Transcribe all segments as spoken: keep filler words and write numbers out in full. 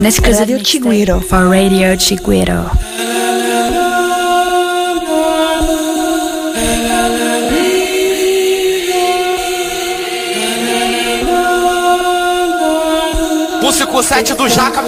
Nesse casa do Chiguiro. For Radio Chiguiro. O cinco sete do Jaca.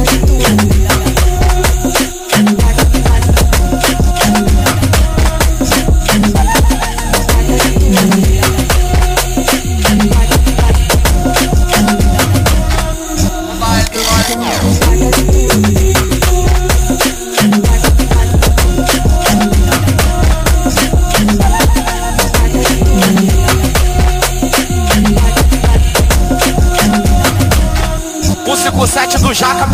O cinco sete do Jaca.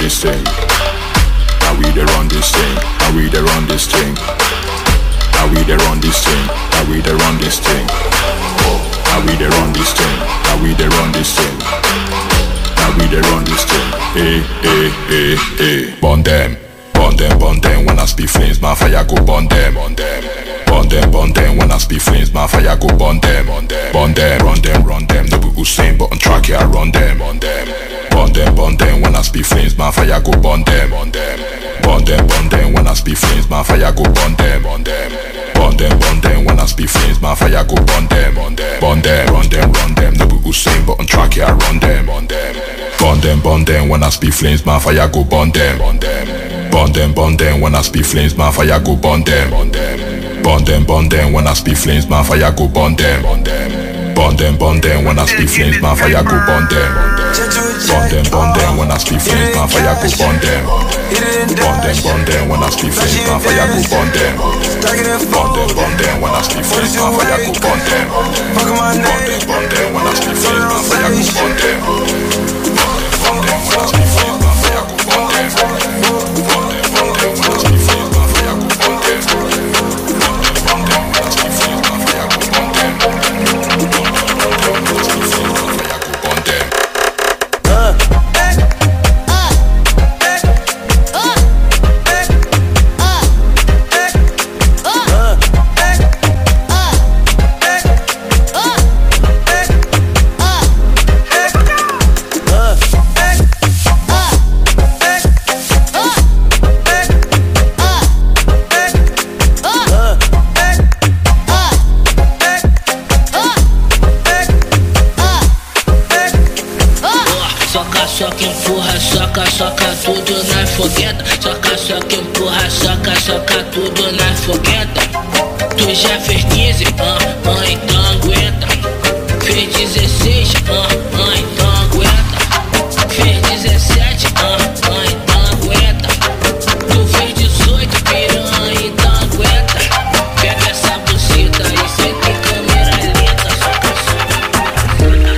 this thing. Now we there on this thing. Now we there on this thing. Now we there on this thing. Now we there on this thing. Now we there on this thing. Now we there on this thing. Now we there on this thing. Hey, hey, hey, hey. Burn them, burn them, burn them. When I speak flames, my fire go burn them, burn them. Burn them, burn them. When I speak flames, my fire go burn them, burn them. Burn them, run them, run them. No be Usain, but on track here I run them, burn them. Burn them, burn them. When I speak flames, my fire go burn them, burn them. Burn them, burn them. When I speak flames, my fire go burn them, burn them. Burn them, burn them. When I speak flames, my fire go burn them, burn them. Burn them, run them, run them. No be Usain, but on track here I run them, burn them. Burn them, burn them. When I speak flames, my fire go burn them, burn them. Burn them, burn them. When I speak flames, my fire go burn them, burn them. Burn them, burn them. When I speak flames, my fire go burn them, burn them. Burn them, burn them. When I speak flames, my fire go burn them. Burn them, burn them. When I speak flames, my fire go burn them. Burn them, burn them. When I speak flames, my fire go burn them. Burn them, burn them. When I speak flames, my fire go burn them. Burn them, burn them. When I speak flames, my fire go burn them. Burn them, burn them. When I speak flames, my fire go burn them. Burn them, burn them. When I speak flames, my fire go burn them. Soca, empurra, soca, soca tudo na fogueta. Soca, soca, empurra, soca, soca tudo na fogueta. Tu já fez quinze, ah, ah, então aguenta. Fez dezesseis, ah, ah, então aguenta. Fez dezessete, ah, ah, então aguenta. Tu fez dezoito, piranha, então aguenta. Pega essa buceta e senta em câmera lenta. Soca, soca.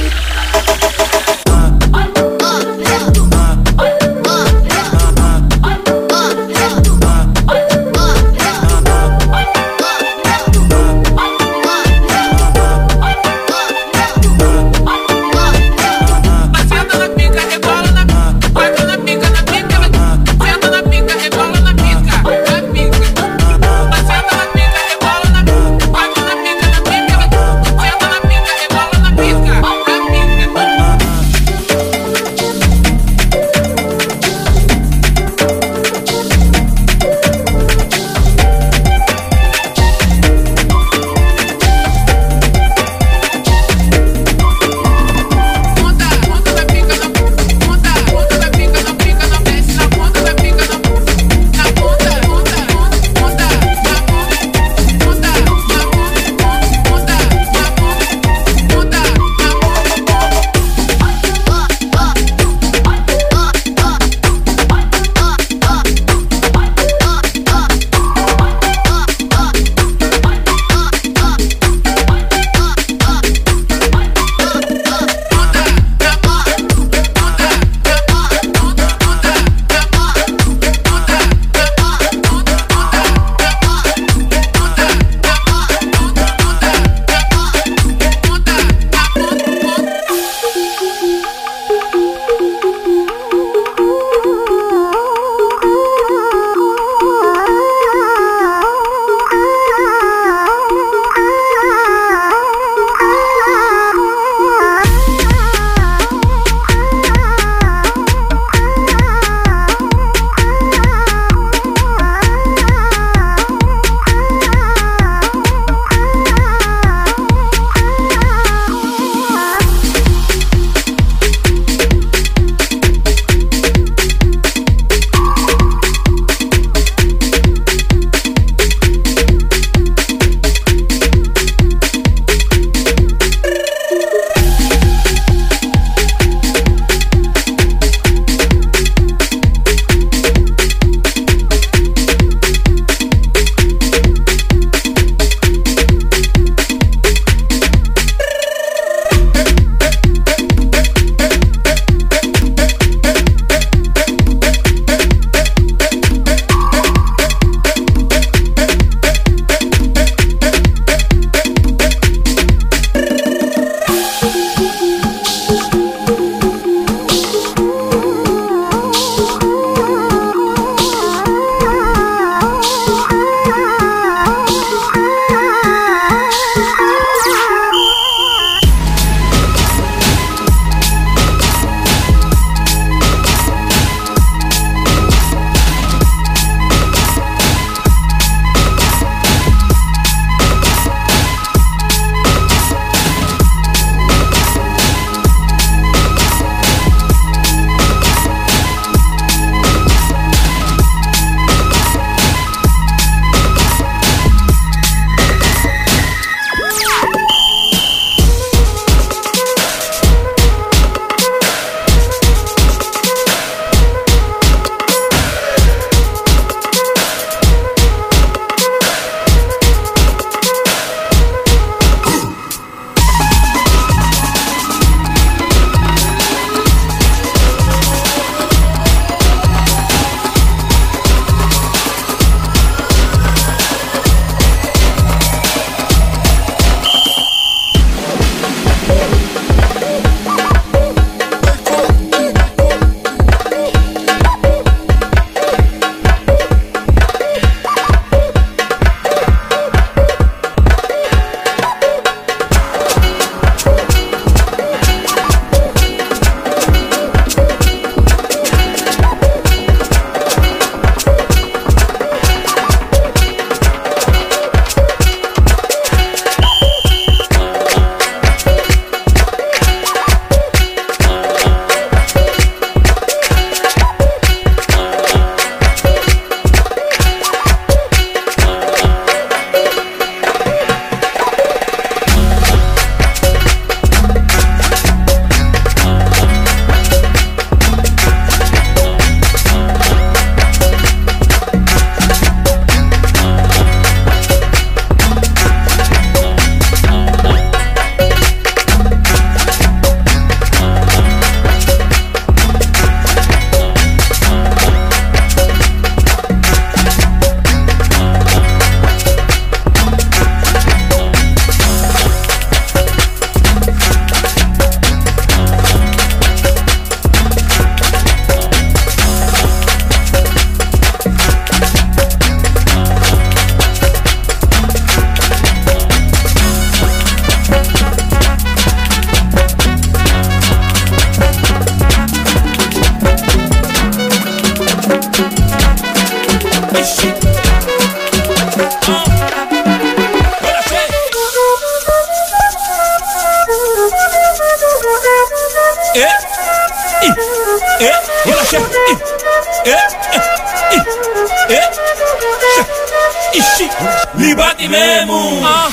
Libati mesmo. Ah.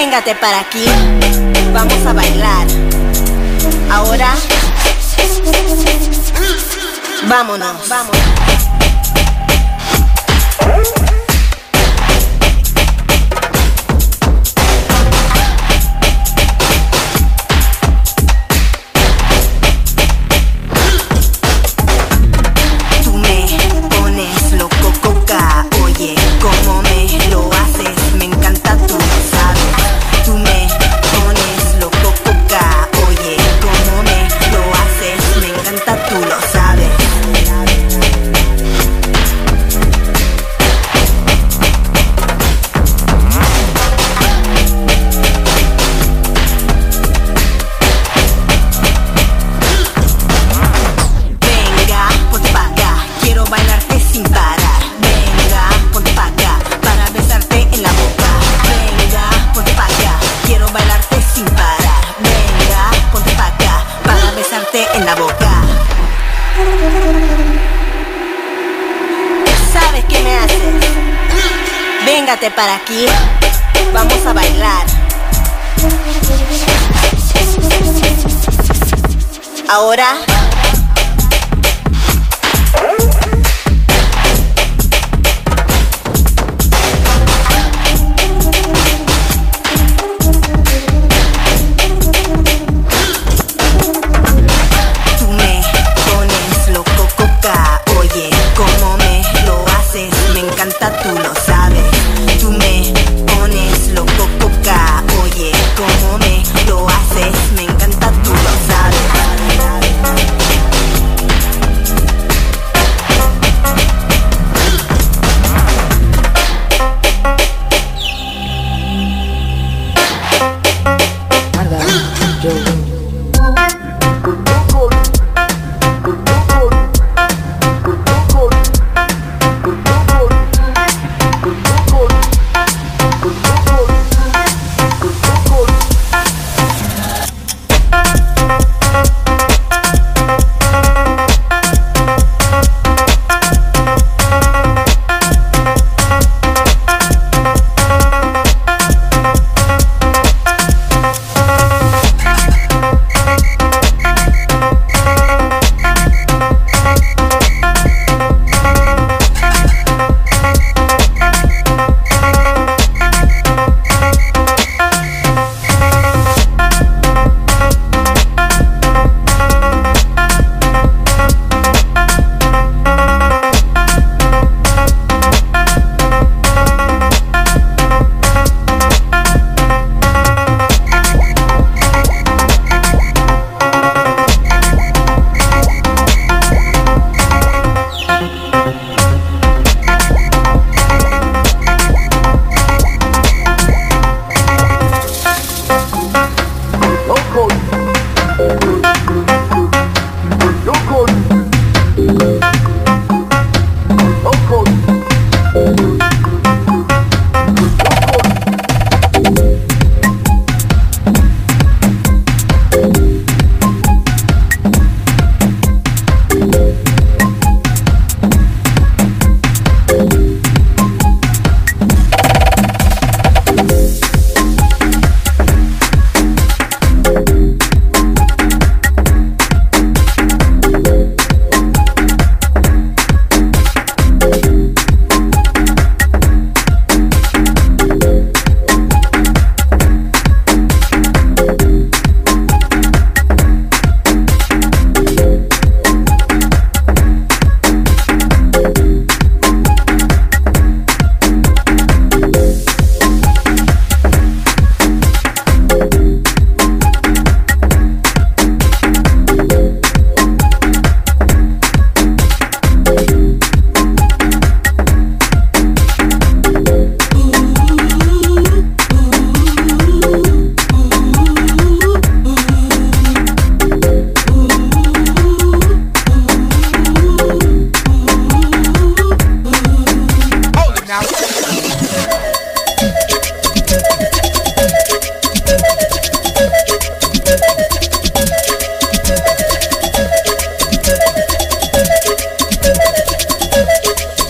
Véngate para aquí, vamos a bailar. Ahora, vámonos, vámonos. ¿Sabes qué me haces? Véngate para aquí, vamos a bailar. Ahora, tú lo sabes, tú me pones loco, coca. Oye, cómo me lo haces, me encanta, tú lo sabes.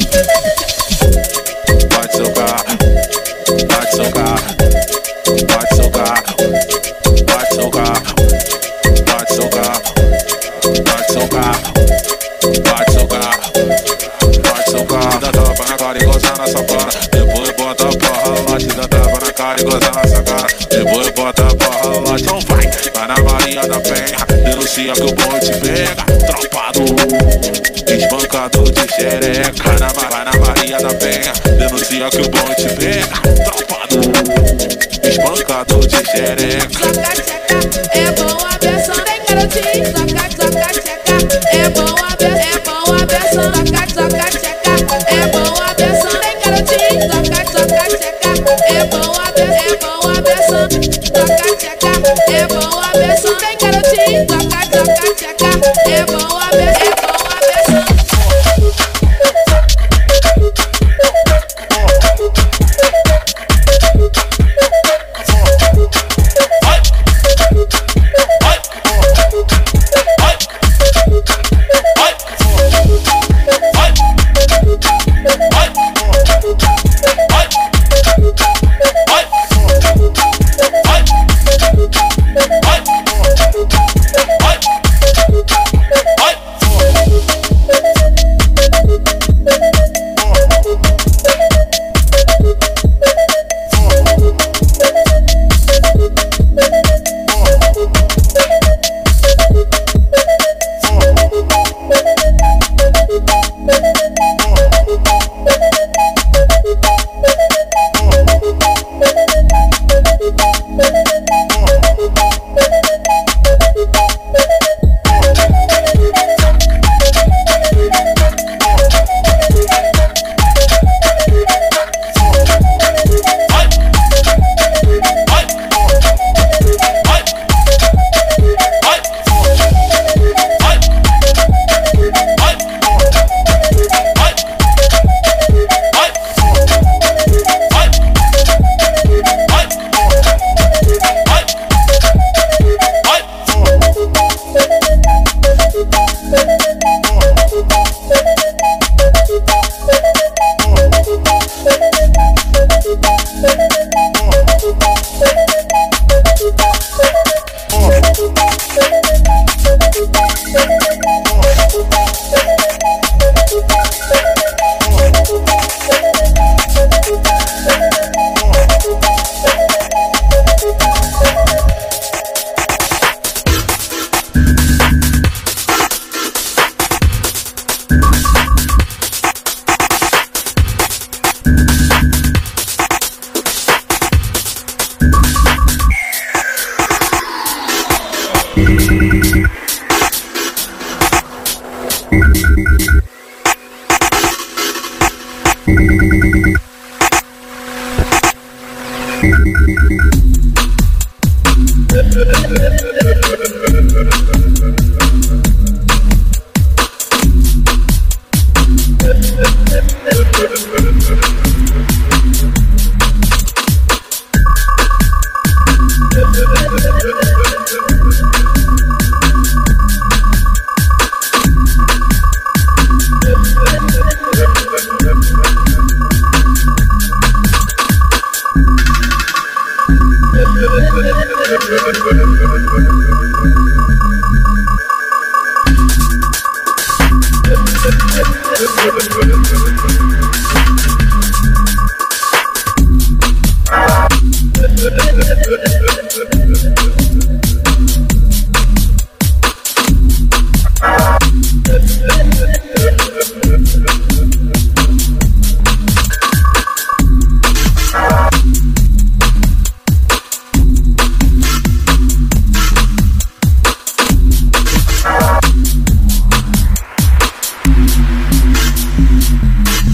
Watch na sua cara. Depois bota a porra, lá te dá tapa na cara e goza na sua cara. Depois bota a porra, lá então vai. Vai na Maria da Penha, denuncia que o bom te pega. Tropa do espancador de xereca. Vai na, vai na Maria da Penha, denuncia que o bom te pega. Tropa do espancador de xereca. Soca tcheca, é bom a versão, tem garotinho. Soca, soca tcheca, é bom a versão, é bom a versão. Soca, soca tcheca, é bom a versão, tem garotinho. Soca, soca tcheca, é bom a versão, é bom a versão. Soca tcheca, é bom a versão, tem garotinho. Soca, soca tcheca, é bom a versão, é bom a versão.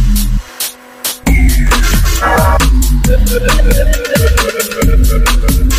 We'll be right back.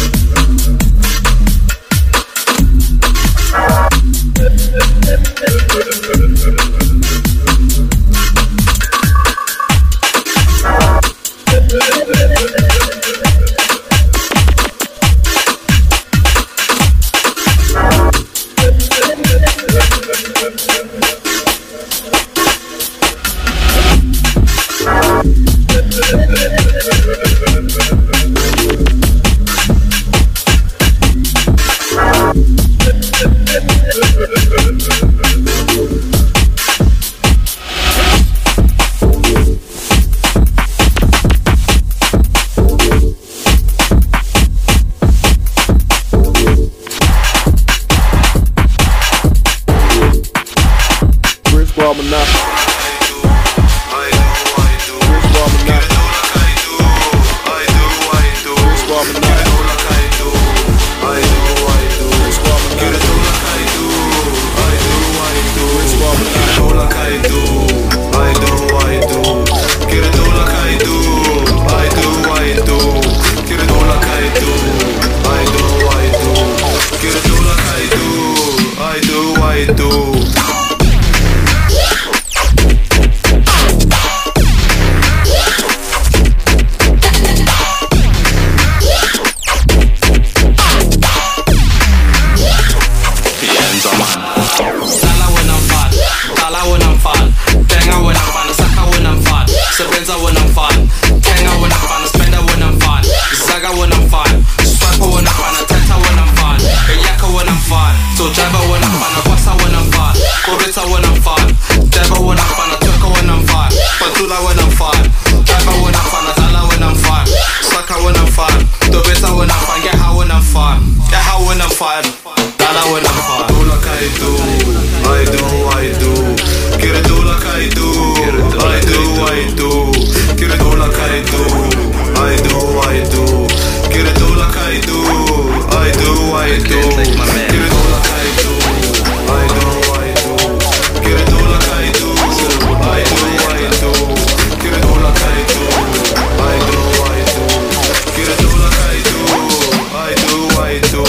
fire. Dala wala fire. Do like I do, I do, I do. Quiero do like I do, I do, I do. Quiero do like I do, I do, I do. Quiero do like I do, I do, I do. Quiero do like I do, I do, I do. Quiero do like I do, I do, I do. Quiero do like I do, I do, I do. Quiero do like I do, I do, I do.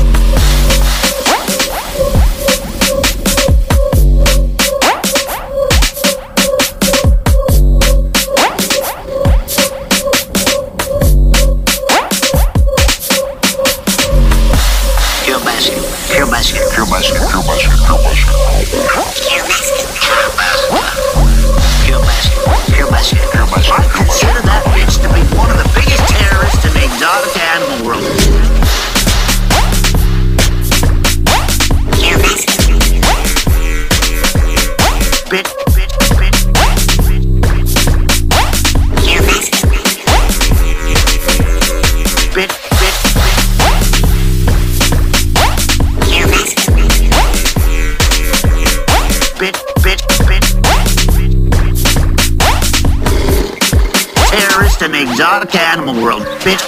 Exotic animal world, bitch.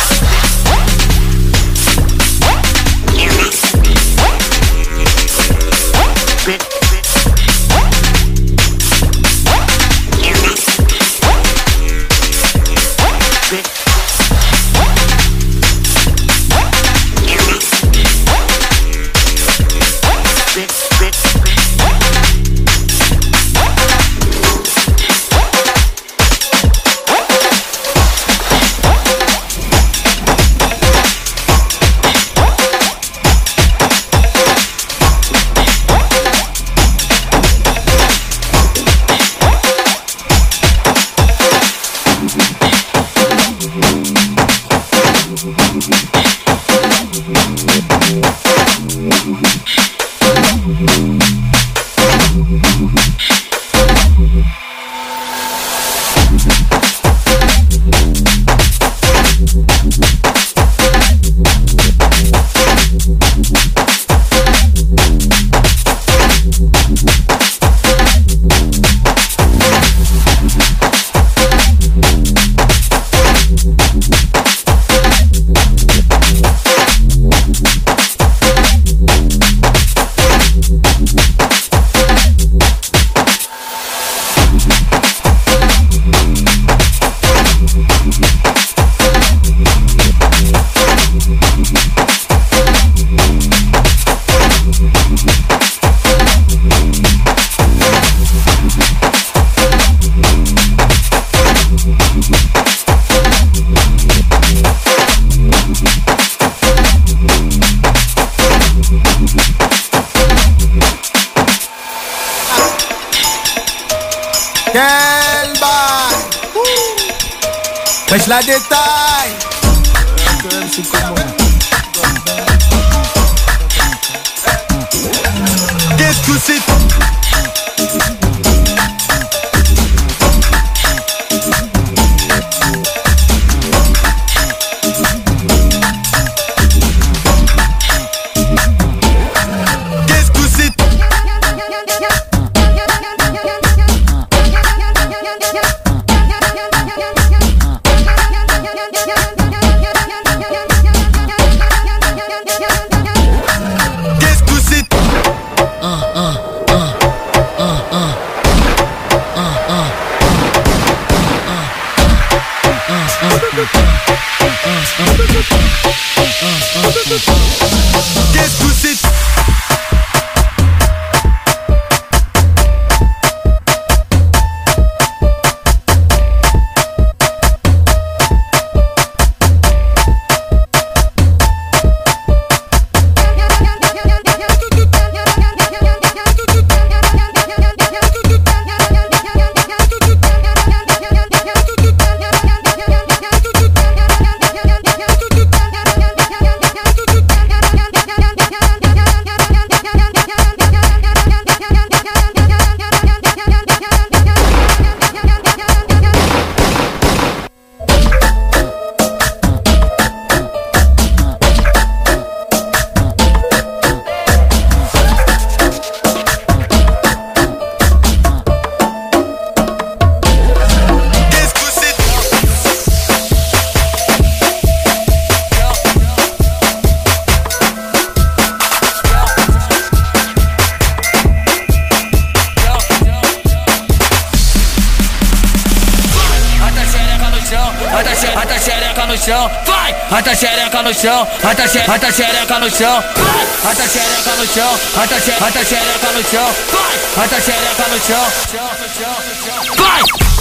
Wesh la détail. Qu'est-ce que c'est? Qu'est-ce que c'est? vai. Rata xereca no chão, rata xereca, rata xereca no chão, vai. Rata xereca no chão, rata xereca, rata xereca no chão, vai. Rata xereca no chão, vai.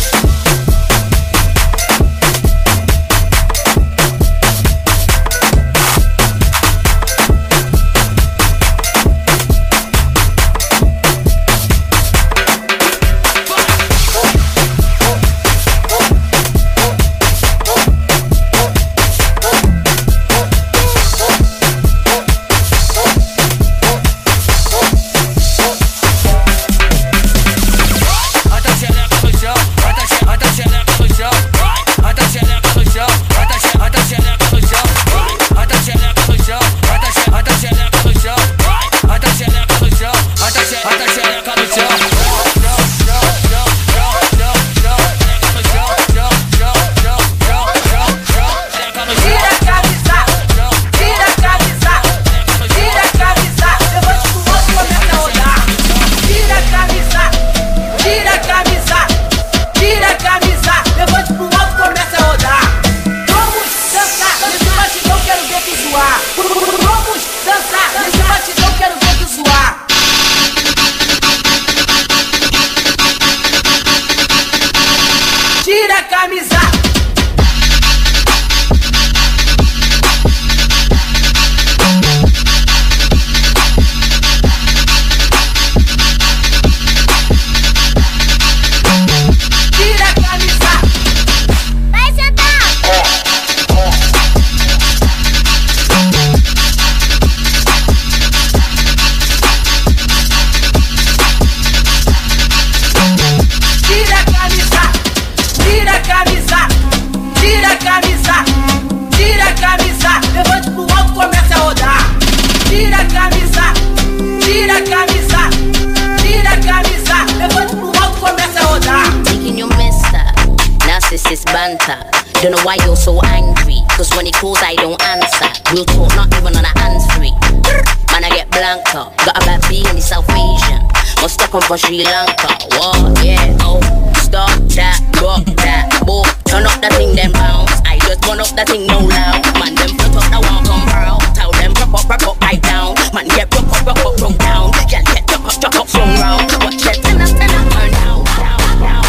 Don't know why you're so angry, cause when he calls I don't answer. We'll talk not even on a hands free. Man I get blanker, got a bad B in the South Asian. Must stuck on from Sri Lanka. What, yeah, oh, stop that, rock that, boom. Turn up that thing, then bounce. I just turn up that thing, no loud. Man, them front up, that one come proud. Tell them rock up, rock up, right down. Man, get rock up, rock up, rock down. Get get rock up, rock up, swing round. Watch that, turn up, turn up, turn down, down, down.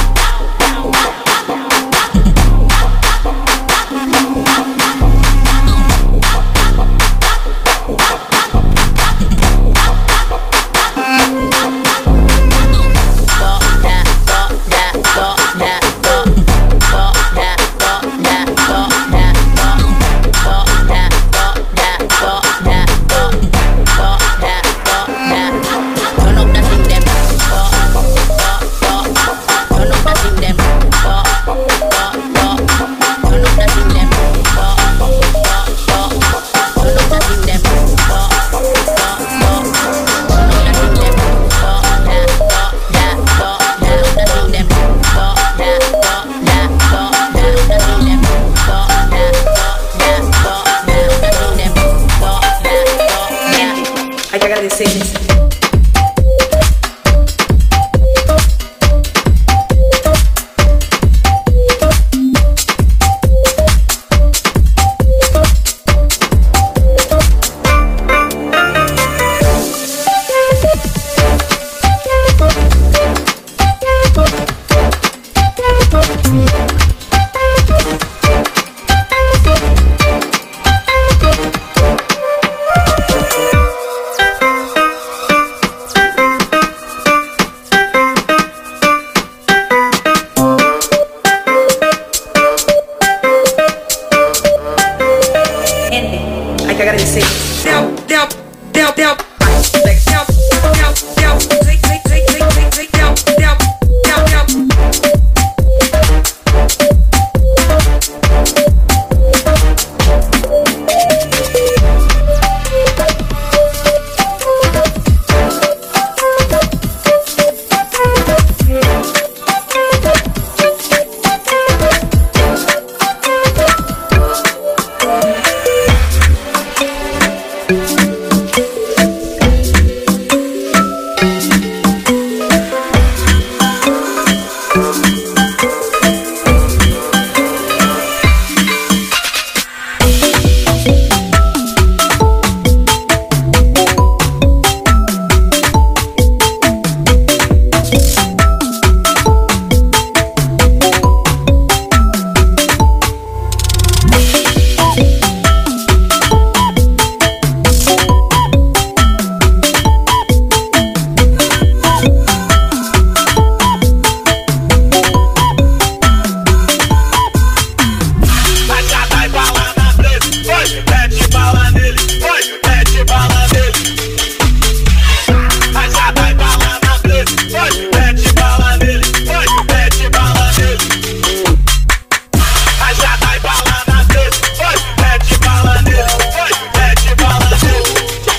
bala nele, vai, mete bala nele. Rajada e bala na blaze, vai, mete bala nele, vai, mete bala nele. Rajada e bala na blaze, vai, mete bala nele, vai, mete bala nele.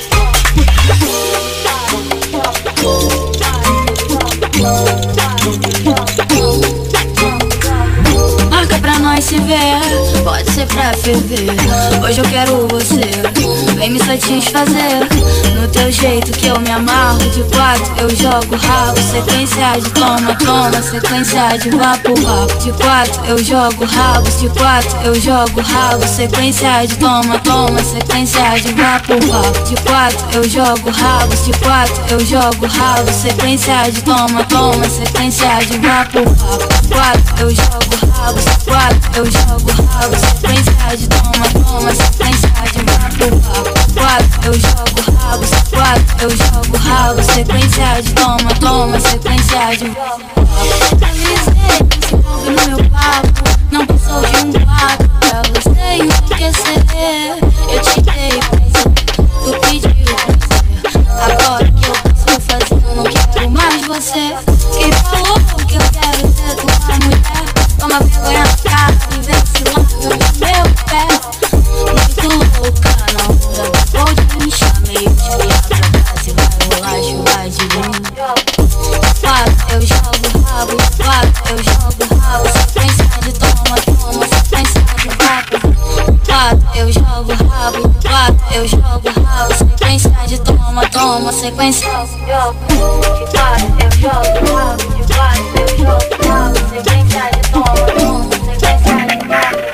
Marca pra nós se ver, pode ser pra ferver. Hoje eu quero você, vem me satisfazer. No teu jeito que eu me amarro, de quatro eu jogo rabo. Sequência de toma, toma, sequência de vapo, vapo. De quatro eu jogo rabo, de quatro eu jogo rabo. Sequência de toma, toma, sequência de vapo, vapo. De quatro eu jogo rabo, de quatro eu jogo rabo. Sequência de toma, toma, sequência de vapo, vapo. De quatro eu jogo rabo, de quatro eu jogo rabo. Sequência de toma, toma, sequência de vapo, vapo. De quatro eu jogo rabo, de quatro eu jogo rabo. Sequência de toma, toma, sequência de vapo, vapo. Avisei, se envolve no meu papo, não passou de um papo. Pra você enlouquecer, eu te dei prazer, tu pediu prazer. Agora que eu posso fazer, eu não quero mais você. Quem falou que eu quero ser tua mulher? Toma vergonha na cara e vem se larga do meu pé. Muito louca, não vou de me chamei, eu te ligar pra casa e vai rolar chuva de mim. Quatro, eu jogo rabo, quatro, eu jogo rabo. Sequência de toma, toma, sequência de vapo. Quatro, eu jogo rabo, quatro, eu jogo rabo. Sequência de toma, toma, sequência de vapo. De quatro, eu jogo rabo, de quatro, eu jogo rabo. Sequência de toma, toma, sequência de vapo.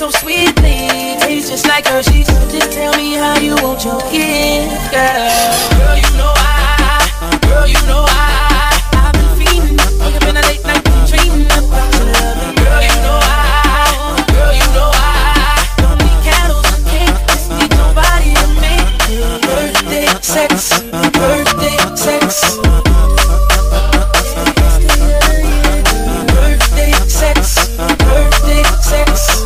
so sweetly, tastes just like Hershey's. Just tell me how you want your kiss, girl. Girl, you know I, girl, you know I, I've been feeling, woke up in a late night dreaming about your love. Girl, you know I, girl, you know I, don't need candles and cake, just need your body to make it. Birthday sex, birthday sex. Birthday sex, birthday sex.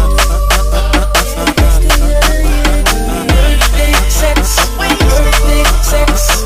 Birthday sex, birthday sex.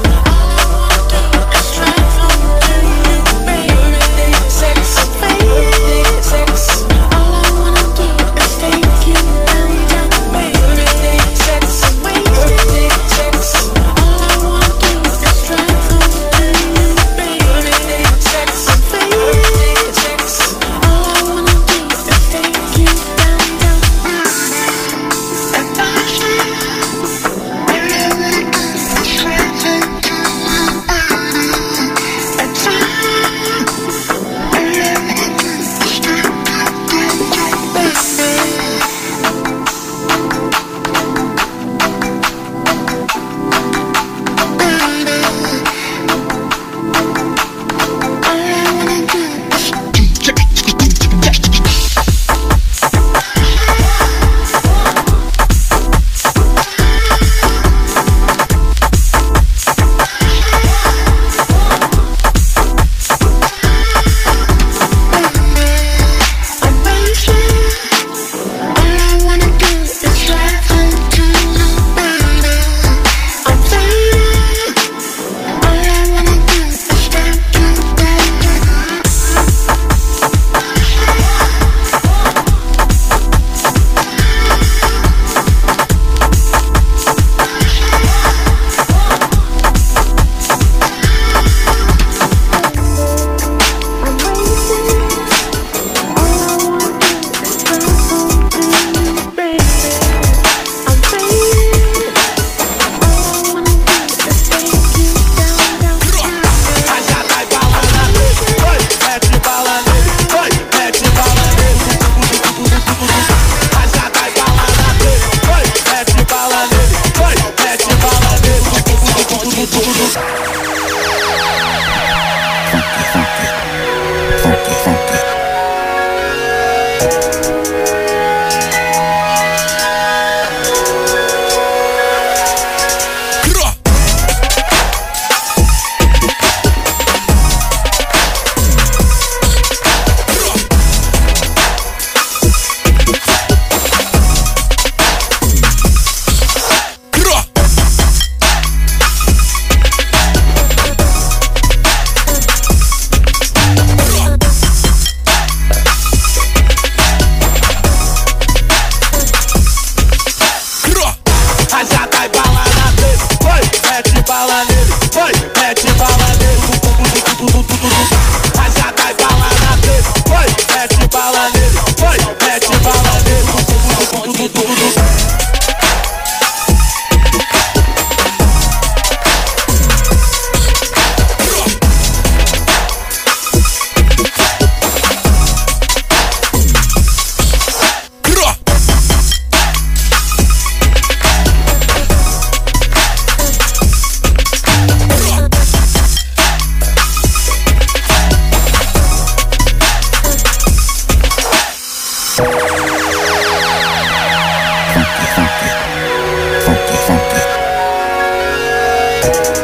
Funky, funky, funky, funky.